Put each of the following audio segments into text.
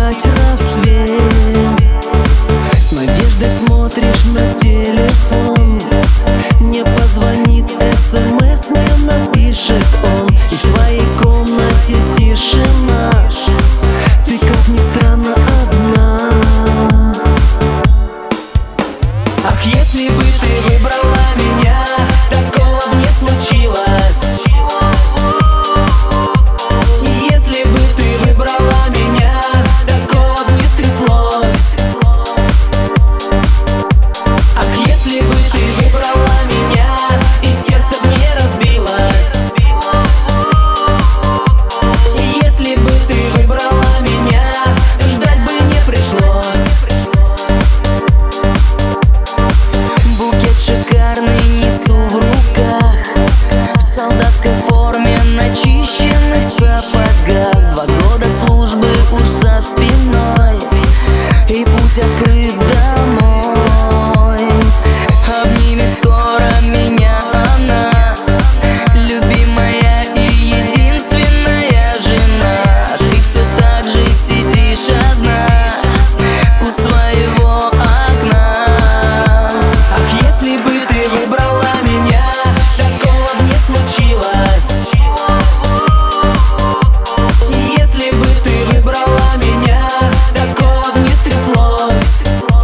убегать рассвет. С надеждой смотришь на телефон, не позвонит, СМС не напишет он, и в твоей комнате тишина. Ты, как ни странно, одна. Ах, если бы ты выбрала меня, такого б не случилось. Если бы ты выбрала меня, такого б не стряслось. Ах, если бы ты выбрала меня, и сердце б не разбилось. Если бы ты выбрала меня, ждать бы не пришлось. Букет шикарный несу в руках, в солдатской форме, начищенных сапогах. 2 года службы уж за спиной, и путь открыт домой. Обнимет скоро меня она, любимая и единственная жена. Ты все так же сидишь одна у своего окна. Ах, если бы ты выбрала меня, такого б не случилось. Если бы ты выбрала меня, такого б не стряслось.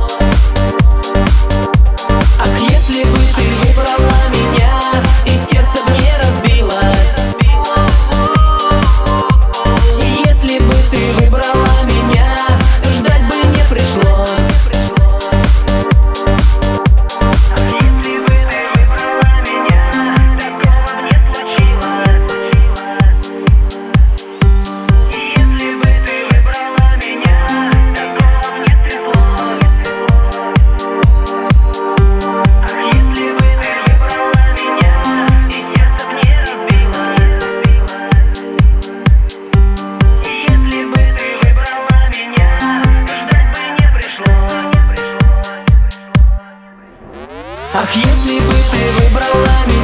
Ах, если бы ты выбрала меня, и сердце б не разбилось. Если бы ты выбрала меня, ждать бы не пришлось. Если бы ты выбрала меня, такого б не случилось. Если бы ты выбрала меня, такого б не стряслось. Ах, если бы ты выбрала меня, и сердце б не разбилось. Если бы ты выбрала меня, ждать бы не пришлось. Ах, если бы ты выбрала меня.